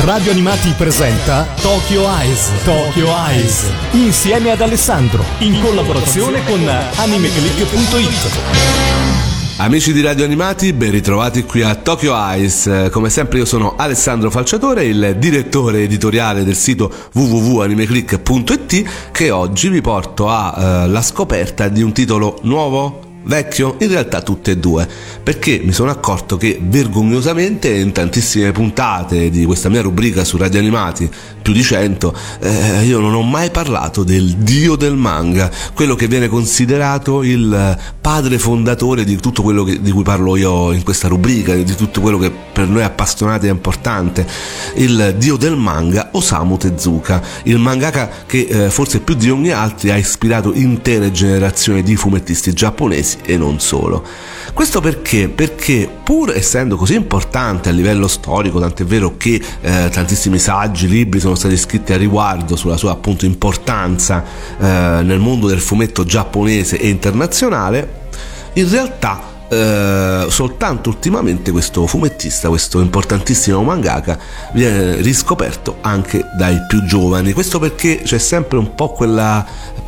Radio Animati presenta Tokyo Eyes. Tokyo Eyes. Insieme ad Alessandro. In collaborazione con animeclick.it. Amici di Radio Animati, ben ritrovati qui a Tokyo Eyes. Come sempre io sono Alessandro Falciatore, il direttore editoriale del sito www.animeclick.it, che oggi vi porto alla scoperta di un titolo nuovo, vecchio, in realtà tutte e due, perché mi sono accorto che vergognosamente in tantissime puntate di questa mia rubrica su Radio Animati, più di 100, io non ho mai parlato del dio del manga, quello che viene considerato il padre fondatore di tutto quello di cui parlo io in questa rubrica, di tutto quello che per noi appassionati è importante, il dio del manga, Osamu Tezuka, il mangaka che forse più di ogni altro ha ispirato intere generazioni di fumettisti giapponesi e non solo. Questo perché pur essendo così importante a livello storico, tant'è vero che tantissimi saggi, libri sono stati scritti a riguardo sulla sua appunto importanza nel mondo del fumetto giapponese e internazionale, in realtà soltanto ultimamente questo fumettista, questo importantissimo mangaka, viene riscoperto anche dai più giovani. Questo perché c'è sempre un po' quella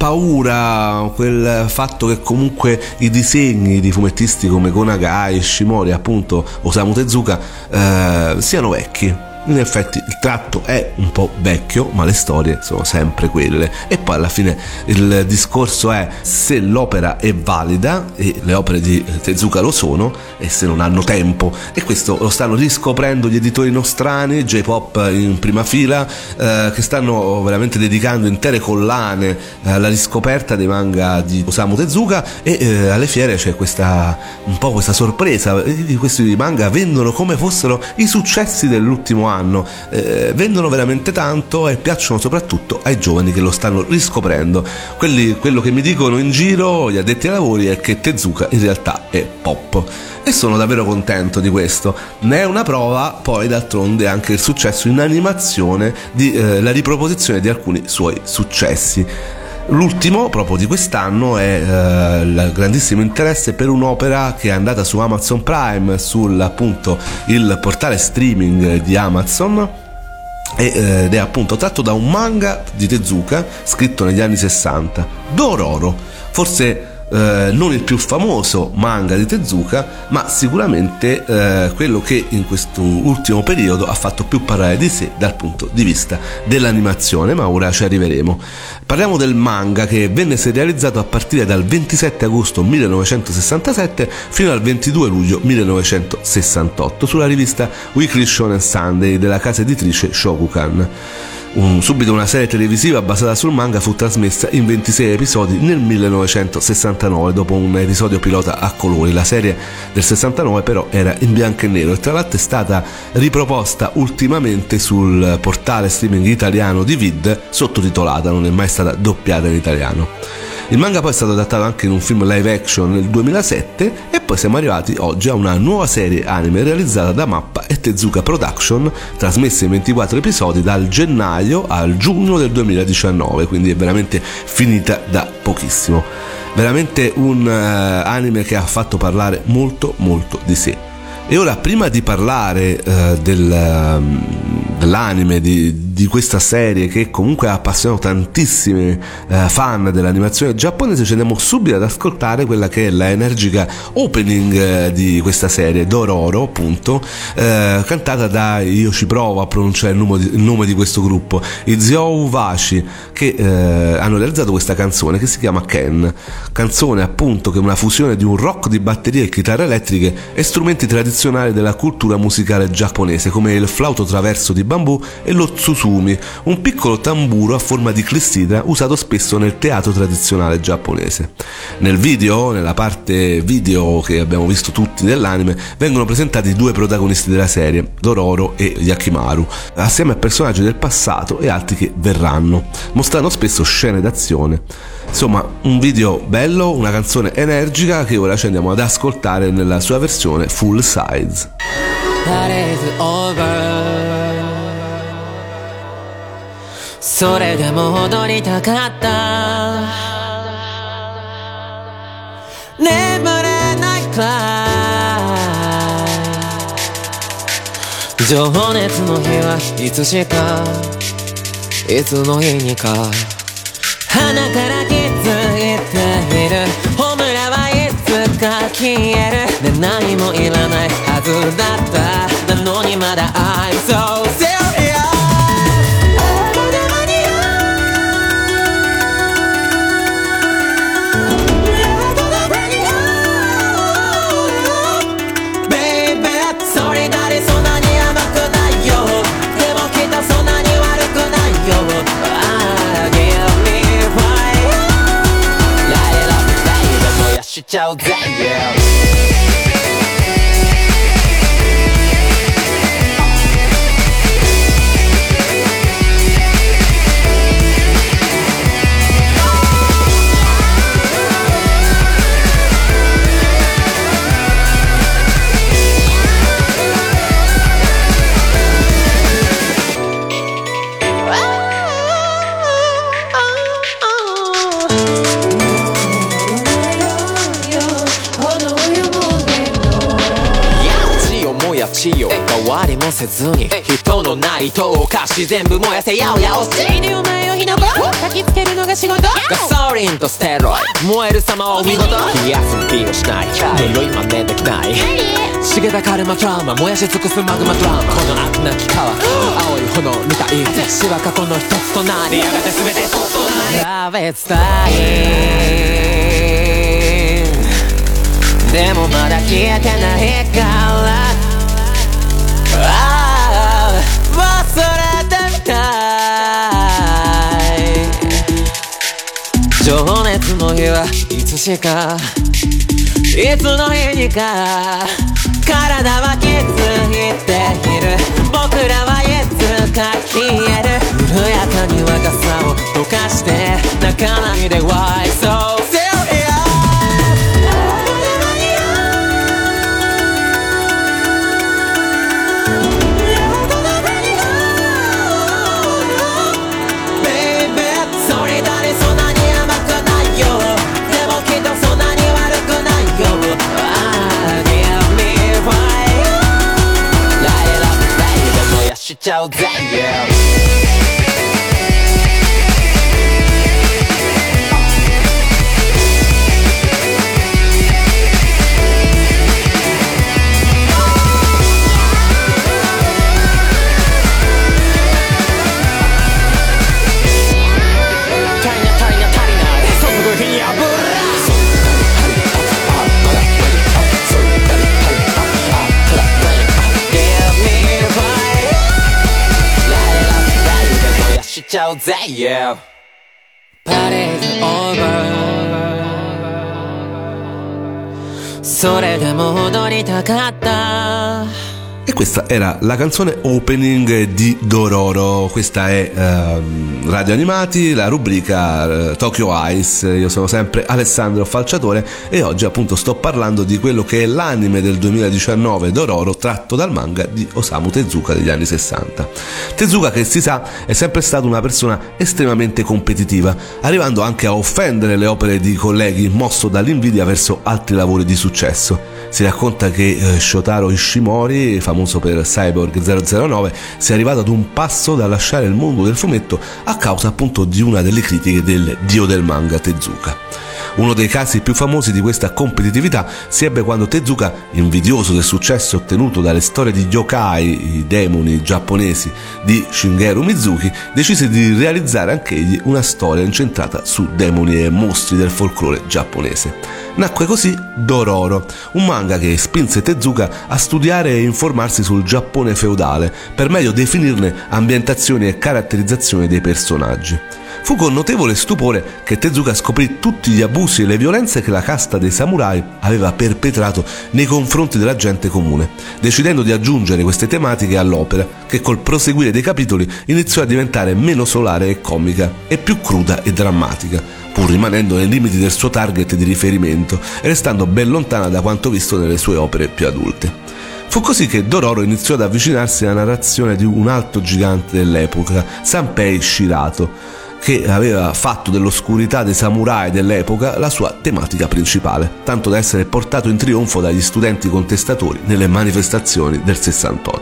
paura, quel fatto che comunque i disegni di fumettisti come Gonagai, Ishimori, appunto Osamu Tezuka siano vecchi. In effetti il tratto è un po' vecchio, ma le storie sono sempre quelle, e poi alla fine il discorso è se l'opera è valida, e le opere di Tezuka lo sono, e se non hanno tempo, e questo lo stanno riscoprendo gli editori nostrani, J-Pop in prima fila, che stanno veramente dedicando intere collane alla riscoperta dei manga di Osamu Tezuka, e alle fiere c'è un po' questa sorpresa, questi manga vendono come fossero i successi dell'ultimo anno, vendono veramente tanto e piacciono soprattutto ai giovani che lo stanno riscoprendo. Quello che mi dicono in giro gli addetti ai lavori è che Tezuka in realtà è pop, e sono davvero contento di questo. Ne è una prova poi d'altronde anche il successo in animazione la riproposizione di alcuni suoi successi. L'ultimo, proprio di quest'anno, è il grandissimo interesse per un'opera che è andata su Amazon Prime, appunto il portale streaming di Amazon, ed è appunto tratto da un manga di Tezuka scritto negli anni 60, Dororo. Forse non il più famoso manga di Tezuka, ma sicuramente quello che in questo ultimo periodo ha fatto più parlare di sé dal punto di vista dell'animazione, ma ora ci arriveremo. Parliamo del manga che venne serializzato a partire dal 27 agosto 1967 fino al 22 luglio 1968 sulla rivista Weekly Shonen Sunday della casa editrice Shokukan. Subito una serie televisiva basata sul manga fu trasmessa in 26 episodi nel 1969 dopo un episodio pilota a colori. La serie del 69 però era in bianco e nero, e tra l'altro è stata riproposta ultimamente sul portale streaming italiano di Vid sottotitolata, non è mai stata doppiata in italiano. Il manga poi è stato adattato anche in un film live action nel 2007, e poi siamo arrivati oggi a una nuova serie anime realizzata da Mappa e Tezuka Production, trasmessa in 24 episodi dal gennaio al giugno del 2019, quindi è veramente finita da pochissimo. Veramente un anime che ha fatto parlare molto molto di sé. E ora, prima di parlare dell'anime, di questa serie che comunque ha appassionato tantissimi fan dell'animazione giapponese, ci andiamo subito ad ascoltare quella che è la energica opening di questa serie, Dororo appunto, cantata da, io ci provo a pronunciare il nome di questo gruppo, i Zhou Vashi, che hanno realizzato questa canzone che si chiama Ken, canzone appunto che è una fusione di un rock di batterie e chitarre elettriche e strumenti tradizionali della cultura musicale giapponese come il flauto traverso di bambù e lo tsuzumi, un piccolo tamburo a forma di clessidra usato spesso nel teatro tradizionale giapponese. Nella parte video che abbiamo visto tutti dell'anime, vengono presentati due protagonisti della serie, Dororo e Yakimaru, assieme a personaggi del passato e altri che verranno, mostrando spesso scene d'azione. Insomma, un video bello, una canzone energica che ora ci andiamo ad ascoltare nella sua versione full size. That is over. それでも戻りたかった眠れないくらい情熱の日はいつしかいつの日にか鼻から気づいているホムラはいつか消える、ね、何もいらないはずだったなのにまだ I'm so seriousしちゃうぜ、変わりもせずに人のないとお菓子全部燃やせやおやおしいでお前を火の粉焚きつけるのが仕事ガソリンとステロイ燃える様を見事冷やす気をしない色今ねできない茂ったカルマトラウマ燃やし尽くすマグマドラマこの悪なき川青い炎みたい死は過去の一つとなりやがて全てそっとなりラベツタイムでもまだ消えてないから忘れてみたい情熱の日はいつしかいつの日にか体は気づいている僕らはいつか消える緩やかに若さを溶かして泣かないで Why so seriousしちゃうぜ、しちゃうぜ、パレードオーバーそれでも踊りたかった E questa era la canzone opening di Dororo. Questa è Radio Animati, la rubrica Tokyo Eyes. Io sono sempre Alessandro Falciatore e oggi appunto sto parlando di quello che è l'anime del 2019 Dororo, tratto dal manga di Osamu Tezuka degli anni 60. Tezuka, che si sa, è sempre stato una persona estremamente competitiva, arrivando anche a offendere le opere di colleghi, mosso dall'invidia verso altri lavori di successo. Si racconta che Shotaro Ishimori, famoso per Cyborg 009, sia arrivato ad un passo da lasciare il mondo del fumetto a causa appunto di una delle critiche del dio del manga Tezuka. Uno dei casi più famosi di questa competitività si ebbe quando Tezuka, invidioso del successo ottenuto dalle storie di yokai, i demoni giapponesi di Shigeru Mizuki, decise di realizzare anch'egli una storia incentrata su demoni e mostri del folklore giapponese. Nacque così Dororo, un manga che spinse Tezuka a studiare e informarsi sul Giappone feudale per meglio definirne ambientazioni e caratterizzazione dei personaggi. Fu con notevole stupore che Tezuka scoprì tutti gli abusi e le violenze che la casta dei samurai aveva perpetrato nei confronti della gente comune, decidendo di aggiungere queste tematiche all'opera, che col proseguire dei capitoli iniziò a diventare meno solare e comica e più cruda e drammatica, pur rimanendo nei limiti del suo target di riferimento e restando ben lontana da quanto visto nelle sue opere più adulte. Fu così che Dororo iniziò ad avvicinarsi alla narrazione di un altro gigante dell'epoca, Sanpei Shirato, che aveva fatto dell'oscurità dei samurai dell'epoca la sua tematica principale, tanto da essere portato in trionfo dagli studenti contestatori nelle manifestazioni del 68.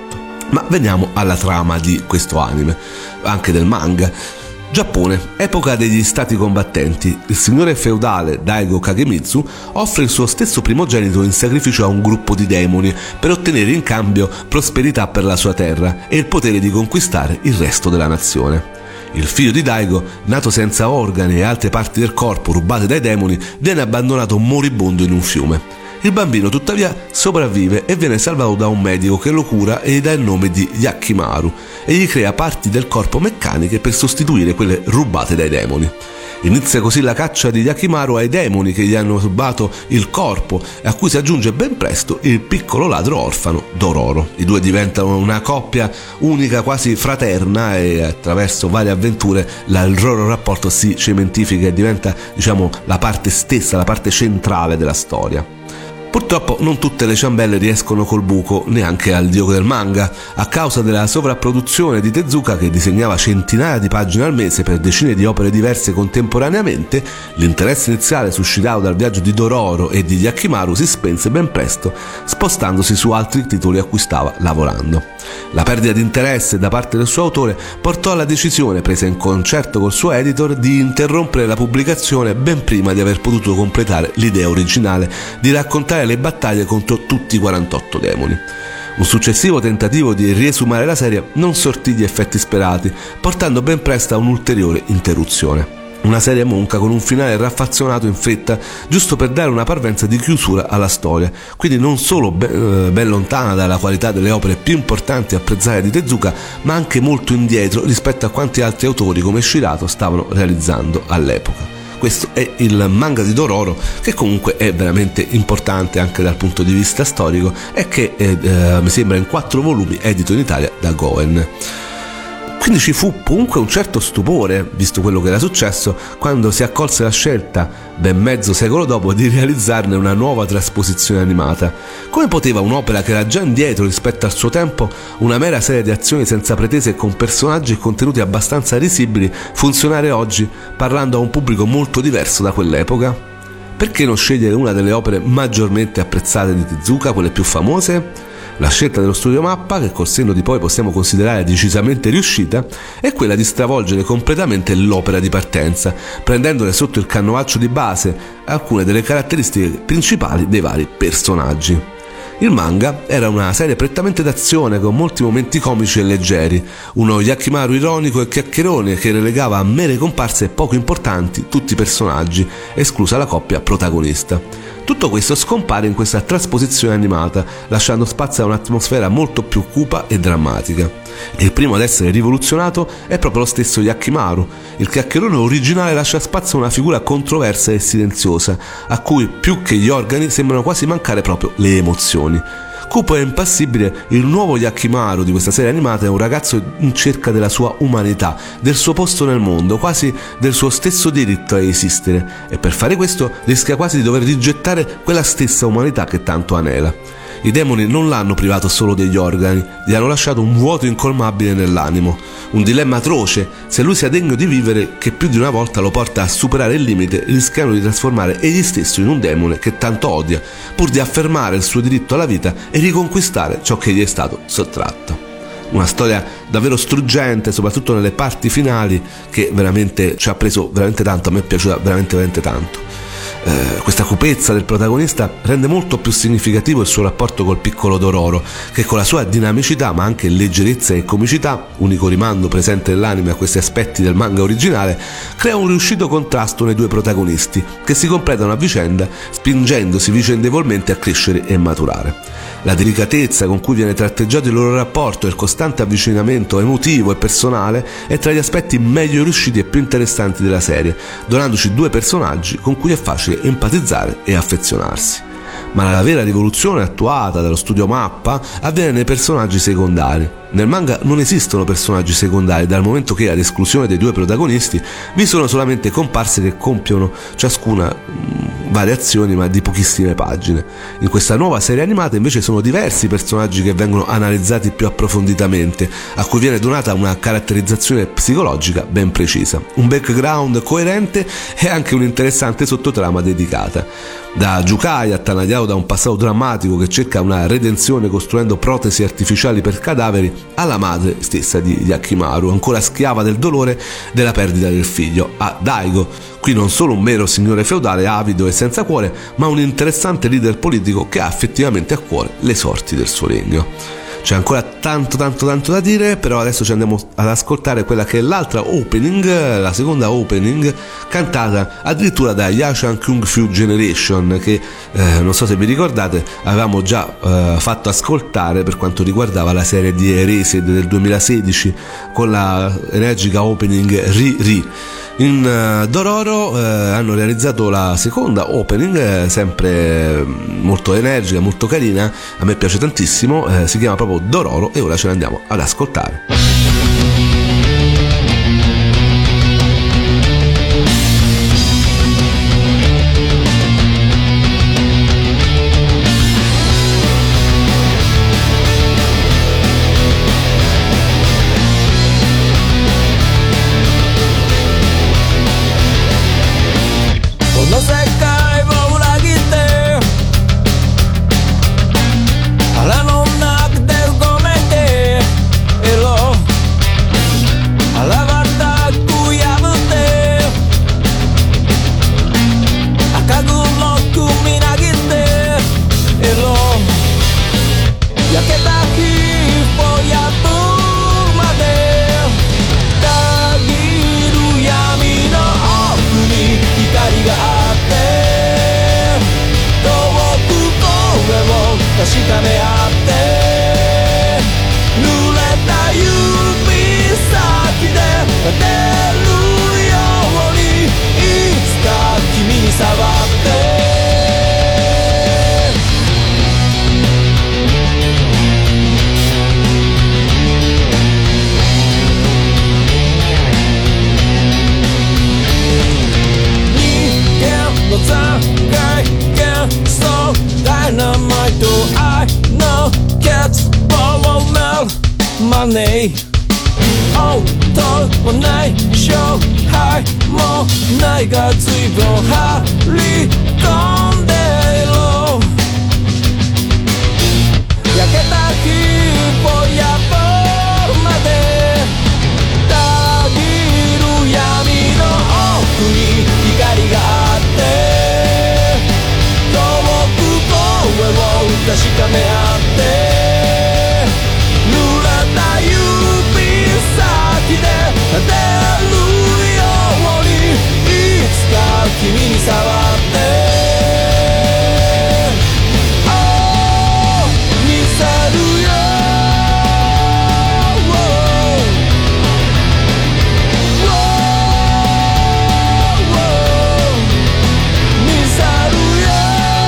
Ma veniamo alla trama di questo anime, anche del manga. Giappone, epoca degli stati combattenti. Il signore feudale Daigo Kagemitsu offre il suo stesso primogenito in sacrificio a un gruppo di demoni per ottenere in cambio prosperità per la sua terra e il potere di conquistare il resto della nazione. Il figlio di Daigo, nato senza organi e altre parti del corpo rubate dai demoni, viene abbandonato moribondo in un fiume. Il bambino tuttavia sopravvive e viene salvato da un medico che lo cura e gli dà il nome di Yakimaru e gli crea parti del corpo meccaniche per sostituire quelle rubate dai demoni. Inizia così la caccia di Yakimaru ai demoni che gli hanno rubato il corpo, a cui si aggiunge ben presto il piccolo ladro orfano Dororo. I due diventano una coppia unica, quasi fraterna, e attraverso varie avventure il loro rapporto si cementifica e diventa, la parte stessa, la parte centrale della storia. Purtroppo non tutte le ciambelle riescono col buco, neanche al dio del manga, a causa della sovrapproduzione di Tezuka, che disegnava centinaia di pagine al mese per decine di opere diverse contemporaneamente. L'interesse iniziale suscitato dal viaggio di Dororo e di Yakimaru si spense ben presto, spostandosi su altri titoli a cui stava lavorando. La perdita di interesse da parte del suo autore portò alla decisione, presa in concerto col suo editor, di interrompere la pubblicazione ben prima di aver potuto completare l'idea originale di raccontare le battaglie contro tutti i 48 demoni. Un successivo tentativo di riesumare la serie non sortì gli effetti sperati, portando ben presto a un'ulteriore interruzione. Una serie monca con un finale raffazzonato in fretta, giusto per dare una parvenza di chiusura alla storia, quindi non solo ben lontana dalla qualità delle opere più importanti e apprezzate di Tezuka, ma anche molto indietro rispetto a quanti altri autori come Shirato stavano realizzando all'epoca. Questo è il manga di Dororo, che comunque è veramente importante anche dal punto di vista storico e che mi sembra in 4 volumi, edito in Italia da Goen. Quindi ci fu comunque un certo stupore, visto quello che era successo, quando si accolse la scelta, ben mezzo secolo dopo, di realizzarne una nuova trasposizione animata. Come poteva un'opera che era già indietro rispetto al suo tempo, una mera serie di azioni senza pretese e con personaggi e contenuti abbastanza risibili, funzionare oggi, parlando a un pubblico molto diverso da quell'epoca? Perché non scegliere una delle opere maggiormente apprezzate di Tezuka, quelle più famose? La scelta dello studio Mappa, che col senno di poi possiamo considerare decisamente riuscita, è quella di stravolgere completamente l'opera di partenza, prendendole sotto il canovaccio di base alcune delle caratteristiche principali dei vari personaggi. Il manga era una serie prettamente d'azione con molti momenti comici e leggeri, uno Yakimaru ironico e chiacchierone che relegava a mere comparse poco importanti tutti i personaggi, esclusa la coppia protagonista. Tutto questo scompare in questa trasposizione animata, lasciando spazio a un'atmosfera molto più cupa e drammatica. Il primo ad essere rivoluzionato è proprio lo stesso Yakimaru. Il chiacchierone originale lascia spazio a una figura controversa e silenziosa, a cui più che gli organi sembrano quasi mancare proprio le emozioni. Cupo e impassibile, il nuovo Yakimaru di questa serie animata è un ragazzo in cerca della sua umanità, del suo posto nel mondo, quasi del suo stesso diritto a esistere, e per fare questo rischia quasi di dover rigettare quella stessa umanità che tanto anela. I demoni non l'hanno privato solo degli organi, gli hanno lasciato un vuoto incolmabile nell'animo, un dilemma atroce, se lui sia degno di vivere, che più di una volta lo porta a superare il limite, rischiando di trasformare egli stesso in un demone che tanto odia, pur di affermare il suo diritto alla vita e riconquistare ciò che gli è stato sottratto. Una storia davvero struggente, soprattutto nelle parti finali, che veramente ci ha preso veramente tanto, a me è piaciuta veramente tanto. Questa cupezza del protagonista rende molto più significativo il suo rapporto col piccolo Dororo, che con la sua dinamicità ma anche leggerezza e comicità, unico rimando presente nell'anime a questi aspetti del manga originale, crea un riuscito contrasto nei due protagonisti che si completano a vicenda, spingendosi vicendevolmente a crescere e maturare. La delicatezza con cui viene tratteggiato il loro rapporto e il costante avvicinamento emotivo e personale è tra gli aspetti meglio riusciti e più interessanti della serie, donandoci due personaggi con cui è facile empatizzare e affezionarsi. Ma la vera rivoluzione attuata dallo studio Mappa avviene nei personaggi secondari. Nel manga non esistono personaggi secondari, dal momento che, ad esclusione dei due protagonisti, vi sono solamente comparse che compiono ciascuna variazioni ma di pochissime pagine. In questa nuova serie animata invece sono diversi personaggi che vengono analizzati più approfonditamente, a cui viene donata una caratterizzazione psicologica ben precisa, un background coerente e anche un'interessante sottotrama dedicata. Da Jukai, attanagliato da un passato drammatico che cerca una redenzione costruendo protesi artificiali per cadaveri, alla madre stessa di Yakimaru, ancora schiava del dolore della perdita del figlio, a Daigo, qui non solo un mero signore feudale avido e senza cuore, ma un interessante leader politico che ha effettivamente a cuore le sorti del suo regno. C'è ancora tanto da dire, però adesso ci andiamo ad ascoltare quella che è l'altra opening, la seconda opening, cantata addirittura da Yashan Kung Fu Generation, che non so se vi ricordate avevamo già fatto ascoltare per quanto riguardava la serie di Erased del 2016 con la energica opening Ri. In Dororo hanno realizzato la seconda opening, sempre molto energica, molto carina, a me piace tantissimo, si chiama proprio Dororo e ora ce l'andiamo ad ascoltare. マネー応答もない勝敗もないが随分張り込んでろ焼けた火を破るまでたぎる闇の奥に光があって遠く声を確かめ合って立てるようにいつか君に触って見せるよ見せるよ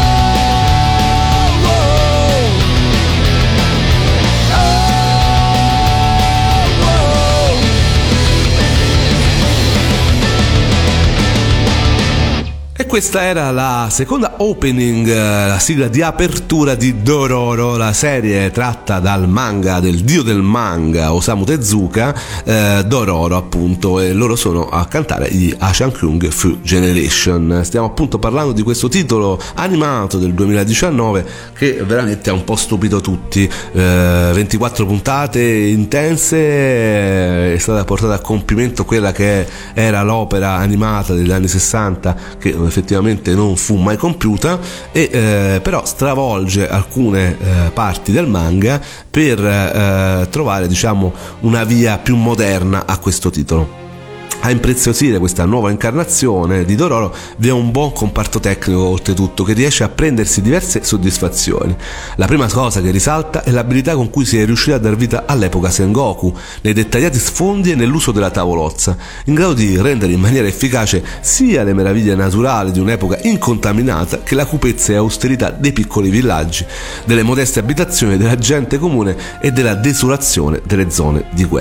Questa era la seconda opening, la sigla di apertura di Dororo, la serie tratta dal manga del dio del manga Osamu Tezuka, Dororo appunto, e loro sono a cantare gli Yashan Kung Fu Generation. Stiamo appunto parlando di questo titolo animato del 2019 che veramente ha un po' stupito tutti, 24 puntate intense, è stata portata a compimento quella che era l'opera animata degli anni 60 che effettivamente non fu mai compiuta e però stravolge alcune parti del manga per trovare, diciamo, una via più moderna a questo titolo. A impreziosire questa nuova incarnazione di Dororo vi è un buon comparto tecnico oltretutto che riesce a prendersi diverse soddisfazioni. La prima cosa che risalta è l'abilità con cui si è riusciti a dar vita all'epoca Sengoku, nei dettagliati sfondi e nell'uso della tavolozza, in grado di rendere in maniera efficace sia le meraviglie naturali di un'epoca incontaminata che la cupezza e austerità dei piccoli villaggi, delle modeste abitazioni della gente comune e della desolazione delle zone di guerra.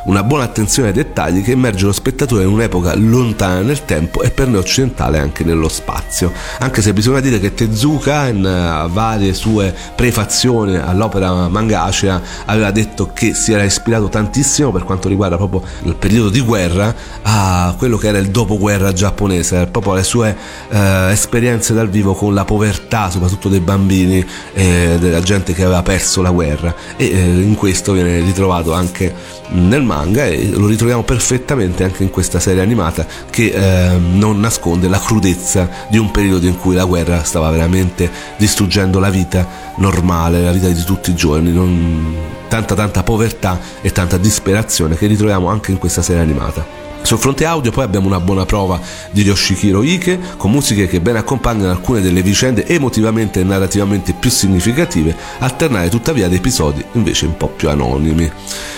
una buona attenzione ai dettagli che immerge lo spettatore in un'epoca lontana nel tempo e per noi occidentale anche nello spazio, anche se bisogna dire che Tezuka in varie sue prefazioni all'opera Mangacea aveva detto che si era ispirato tantissimo per quanto riguarda proprio il periodo di guerra a quello che era il dopoguerra giapponese, proprio le sue esperienze dal vivo con la povertà soprattutto dei bambini e della gente che aveva perso la guerra, e in questo viene ritrovato anche nel manga e lo ritroviamo perfettamente anche in questa serie animata che non nasconde la crudezza di un periodo in cui la guerra stava veramente distruggendo la vita normale, la vita di tutti i giorni, tanta povertà e tanta disperazione che ritroviamo anche in questa serie animata. Sul fronte audio poi abbiamo una buona prova di Yoshihiro Ike, con musiche che ben accompagnano alcune delle vicende emotivamente e narrativamente più significative, alternare tuttavia ad episodi invece un po' più anonimi.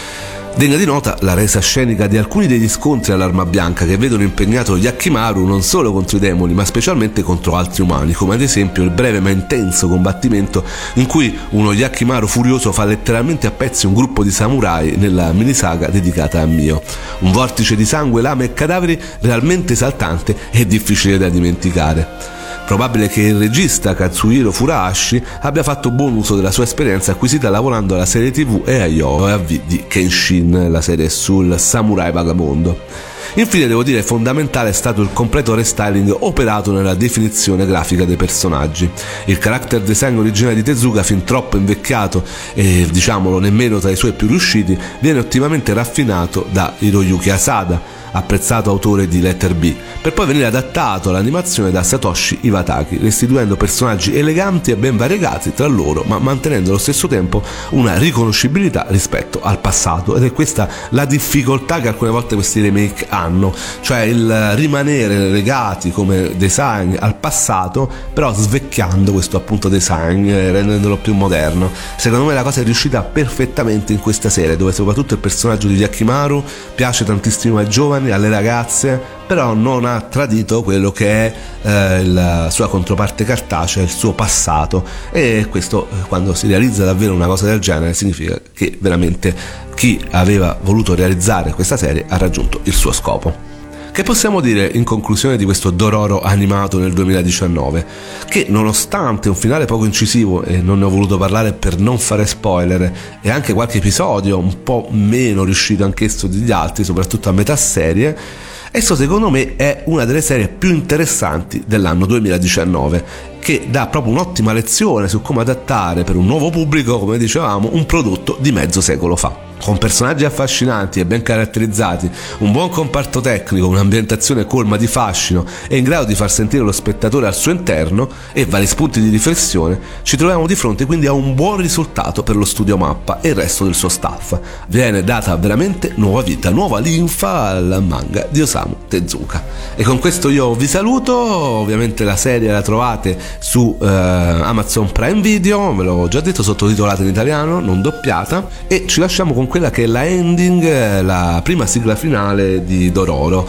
Degna di nota la resa scenica di alcuni degli scontri all'arma bianca che vedono impegnato Yakimaru non solo contro i demoni ma specialmente contro altri umani, come ad esempio il breve ma intenso combattimento in cui uno Yakimaru furioso fa letteralmente a pezzi un gruppo di samurai nella minisaga dedicata a Mio. Un vortice di sangue, lame e cadaveri realmente esaltante e difficile da dimenticare. Probabile che il regista Katsuhiro Furuhashi abbia fatto buon uso della sua esperienza acquisita lavorando alla serie TV e agli OAV di Kenshin, la serie sul samurai vagabondo. Infine devo dire fondamentale è stato il completo restyling operato nella definizione grafica dei personaggi. Il character design originale di Tezuka, fin troppo invecchiato e diciamolo nemmeno tra i suoi più riusciti, viene ottimamente raffinato da Hiroyuki Asada, apprezzato autore di Letter B, per poi venire adattato all'animazione da Satoshi Iwataki, restituendo personaggi eleganti e ben variegati tra loro, ma mantenendo allo stesso tempo una riconoscibilità rispetto al passato. Ed è questa la difficoltà che alcune volte questi remake hanno, cioè il rimanere legati come design al passato, però svecchiando questo appunto design, rendendolo più moderno. Secondo me la cosa è riuscita perfettamente in questa serie, dove soprattutto il personaggio di Yakimaru piace tantissimo ai giovani, alle ragazze, però non ha tradito quello che è la sua controparte cartacea, il suo passato, e questo quando si realizza davvero una cosa del genere significa che veramente chi aveva voluto realizzare questa serie ha raggiunto il suo scopo. Che possiamo dire in conclusione di questo Dororo animato nel 2019? Che nonostante un finale poco incisivo, e non ne ho voluto parlare per non fare spoiler, e anche qualche episodio un po' meno riuscito anch'esso degli altri, soprattutto a metà serie, esso secondo me è una delle serie più interessanti dell'anno 2019, che dà proprio un'ottima lezione su come adattare per un nuovo pubblico, come dicevamo, un prodotto di mezzo secolo fa. Con personaggi affascinanti e ben caratterizzati, un buon comparto tecnico, un'ambientazione colma di fascino e in grado di far sentire lo spettatore al suo interno e vari spunti di riflessione, ci troviamo di fronte quindi a un buon risultato per lo studio Mappa e il resto del suo staff. Viene data veramente nuova vita, nuova linfa al manga di Osamu Tezuka. E con questo io vi saluto, ovviamente la serie la trovate su Amazon Prime Video, ve l'ho già detto, sottotitolata in italiano, non doppiata, e ci lasciamo con quella che è la ending, la prima sigla finale di Dororo.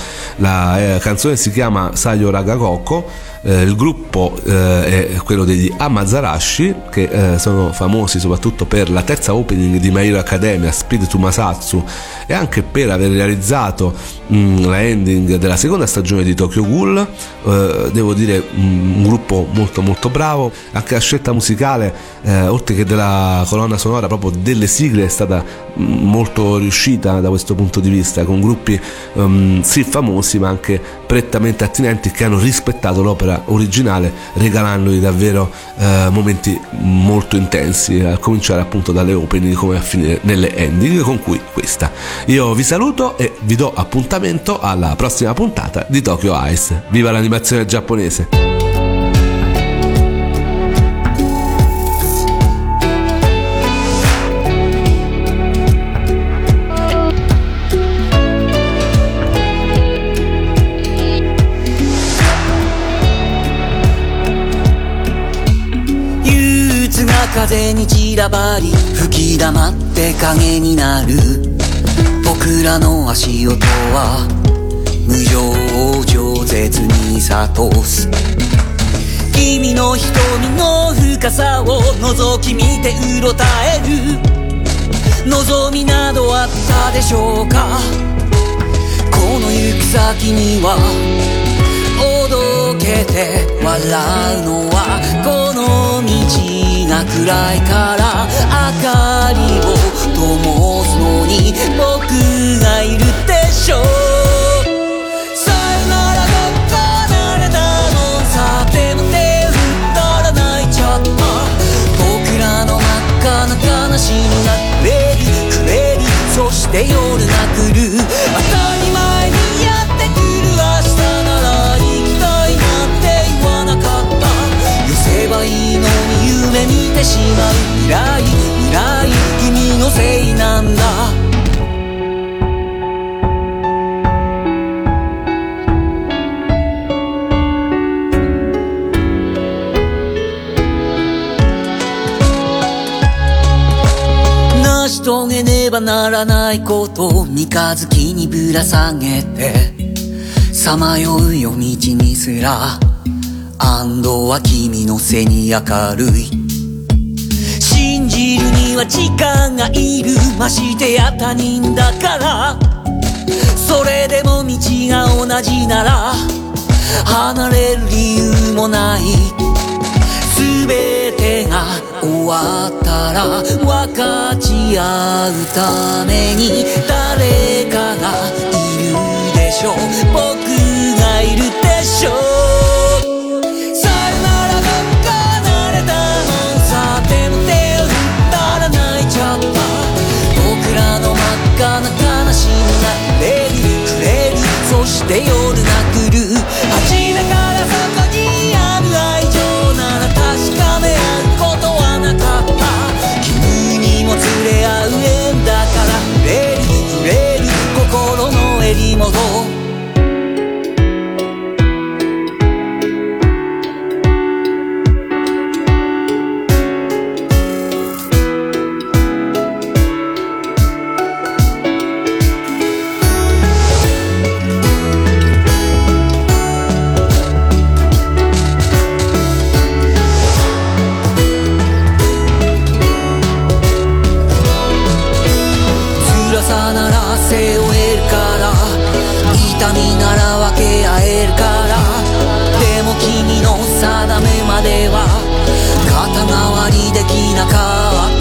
La canzone si chiama Sayo Ragakoko. Il gruppo è quello degli Amazarashi, che sono famosi soprattutto per la terza opening di My Hero Academia, Speed to Masatsu, e anche per aver realizzato la ending della seconda stagione di Tokyo Ghoul. Devo dire un gruppo molto molto bravo, anche la scelta musicale oltre che della colonna sonora, proprio delle sigle, è stata molto riuscita da questo punto di vista, con gruppi sì famosi ma anche prettamente attinenti, che hanno rispettato l'opera originale, regalandogli davvero momenti molto intensi, a cominciare appunto dalle opening come a finire nelle ending, con cui questa. Io vi saluto e vi do appuntamento alla prossima puntata di Tokyo Ice. Viva l'animazione giapponese! 風に散らばり吹き溜まって影になる僕らの足音は無情を饒舌に諭す君の瞳の深さを覗き見てうろたえる望みなどあったでしょうか。この行く先にはおどけて笑うのはこの道が暗いから明かりを灯すのに僕がいるでしょう。さよならが離れたのさでも手を振ったら泣いちゃった。僕らの真っ赤な悲しみがくれるそして夜が来る。当たり前にやってくる明日なら行きたいなんて言わなかった。寄せばいいのに夢見てしまう未来君のせいなんだ。成し遂げねばならないこと三日月にぶら下げてさまよう夜道にすら安堵は君の背に明るい。信じるには時間がいるましてや他人だから。それでも道が同じなら離れる理由もない。すべてが終わったら分かち合うために誰かがいるでしょう。僕がいるでしょう。さよならが離れたのさでも手を振ったら泣いちゃった。僕らの真っ赤な悲しみがくれるそして夜が来る。初めからそこにある愛情なら確かめ合うことはなかった。君にも連れ合う縁だから触れる心の襟元。背負えるから痛みなら分け合えるから。でも君の定めまでは肩代わりできなかった。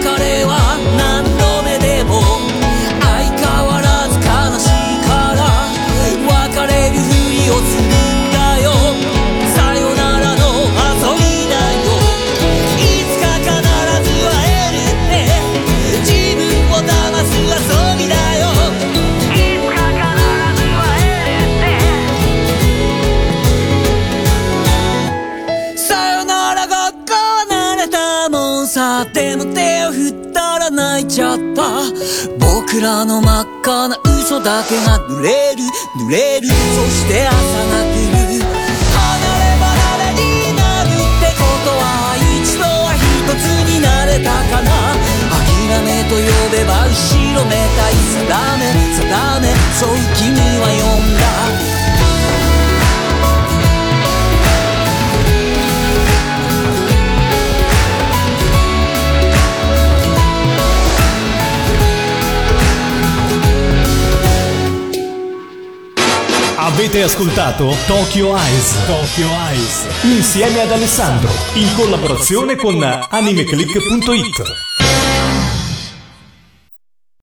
別れは何度目でも相変わらず悲しいから別れるふりをするんだよ。さよならの遊びだよ。いつか必ず会えるって自分を騙す遊びだよ。いつか必ず会えるってさよならが離れたもんさでも手を振ったら泣いちゃった。僕らの真っ赤な嘘だけが濡れるそして朝が来る。離れ離れになるってことは一度は一つになれたかな。諦めと呼べば後ろめたい定めそう君は呼んだ。 Avete ascoltato Tokyo Eyes insieme ad Alessandro in collaborazione con animeclick.it.